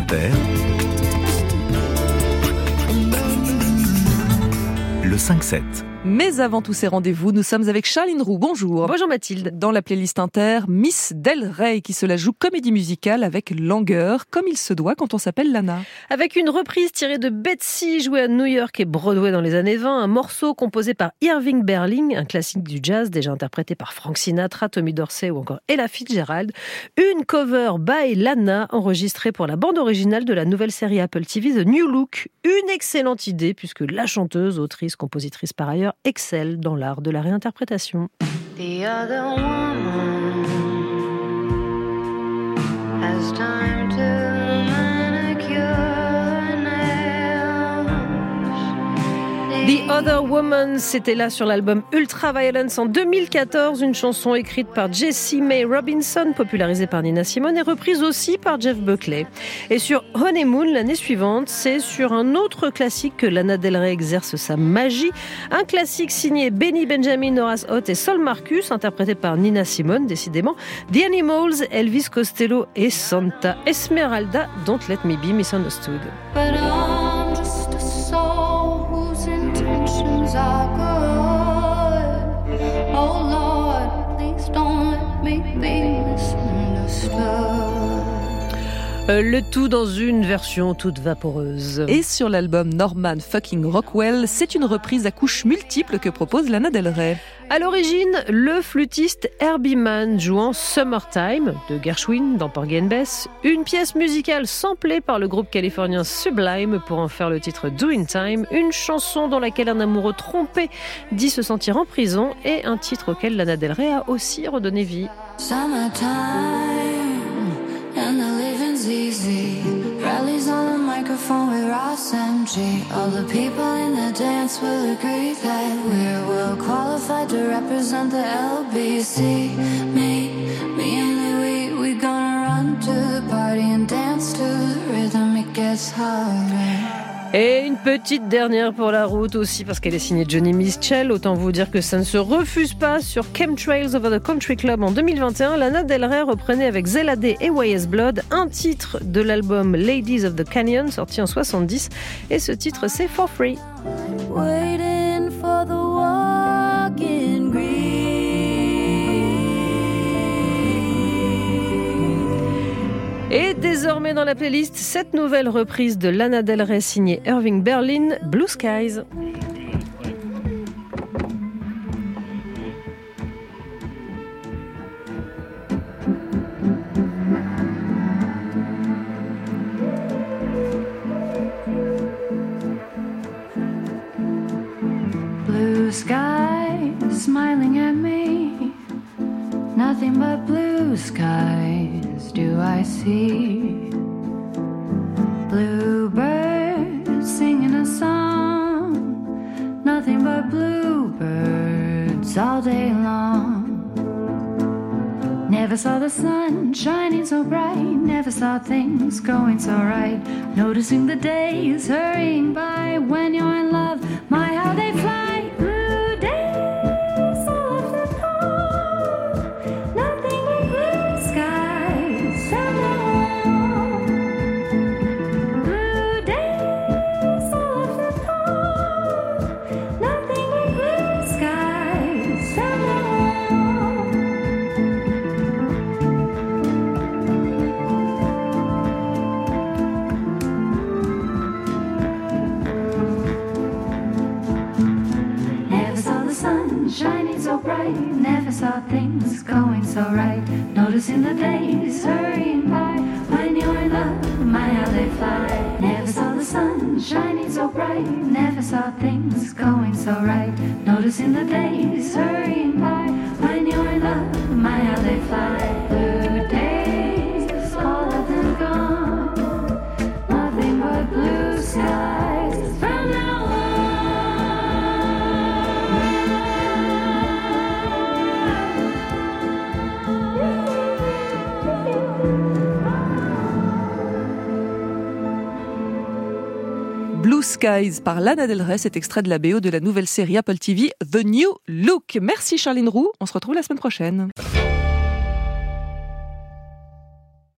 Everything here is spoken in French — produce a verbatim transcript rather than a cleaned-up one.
Inter, le cinq sept. Mais avant tous ces rendez-vous, nous sommes avec Charline Roux. Bonjour. Bonjour Mathilde. Dans la playlist Inter, Miss Del Rey qui se la joue comédie musicale avec langueur, comme il se doit quand on s'appelle Lana. Avec une reprise tirée de Betsy, jouée à New York et Broadway dans les années vingt, un morceau composé par Irving Berlin, un classique du jazz déjà interprété par Frank Sinatra, Tommy Dorsey ou encore Ella Fitzgerald. Une cover by Lana enregistrée pour la bande originale de la nouvelle série Apple T V The New Look. Une excellente idée puisque la chanteuse, autrice, compositrice par ailleurs, excelle dans l'art de la réinterprétation. The other woman has time to manicure nails. The Other Woman, c'était là sur l'album Ultraviolence en deux mille quatorze, une chanson écrite par Jessie Mae Robinson, popularisée par Nina Simone et reprise aussi par Jeff Buckley. Et sur Honeymoon, l'année suivante, c'est sur un autre classique que Lana Del Rey exerce sa magie, un classique signé Benny Benjamin, Horace Hott et Sol Marcus, interprété par Nina Simone, décidément, The Animals, Elvis Costello et Santa Esmeralda, Don't Let Me Be Misunderstood. But I'm just a soul whose intentions are good. Oh Lord, please don't let me be misunderstood. Euh, le tout dans une version toute vaporeuse. Et sur l'album Norman Fucking Rockwell, c'est une reprise à couches multiples que propose Lana Del Rey. À l'origine, le flûtiste Herbie Mann jouant Summertime de Gershwin dans Porgy and Bess, une pièce musicale samplée par le groupe californien Sublime pour en faire le titre Doing Time, une chanson dans laquelle un amoureux trompé dit se sentir en prison et un titre auquel Lana Del Rey a aussi redonné vie. Summertime and the living's easy. Rallies on the microphone with Ross M G. All the people in the dance will agree that we're well qualified to represent the L B C. Me, me and Louis, we gonna run to the party and dance to the rhythm. It gets harder. Et une petite dernière pour la route aussi parce qu'elle est signée Johnny Mitchell. Autant vous dire que ça ne se refuse pas. Sur Chemtrails Over the Country Club en deux mille vingt et un, Lana Del Rey reprenait avec Zella Day et Y S Blood un titre de l'album Ladies of the Canyon sorti en soixante-dix. Et ce titre c'est For Free. Waiting for the walk in green. Et désormais dans la playlist, cette nouvelle reprise de Lana Del Rey signée Irving Berlin, Blue Skies. Blue sky smiling at me. Nothing but blue skies do I see. Bluebirds singing a song. Nothing but bluebirds all day long. Never saw the sun shining so bright. Never saw things going so right. Noticing the days hurrying by. When you're in love, my how they fly. Shining so bright, never saw things going so right. Noticing the days hurrying by. When you're in love, my how they fly. Never saw the sun shining so bright, never saw things going so right. Noticing the days hurrying by. When you're in love, my how they fly. Blue days, all of them gone. Nothing but blue skies from now on. Blue Skies par Lana Del Rey, cet extrait de la B O de la nouvelle série Apple T V The New Look. Merci Charline Roux, on se retrouve la semaine prochaine.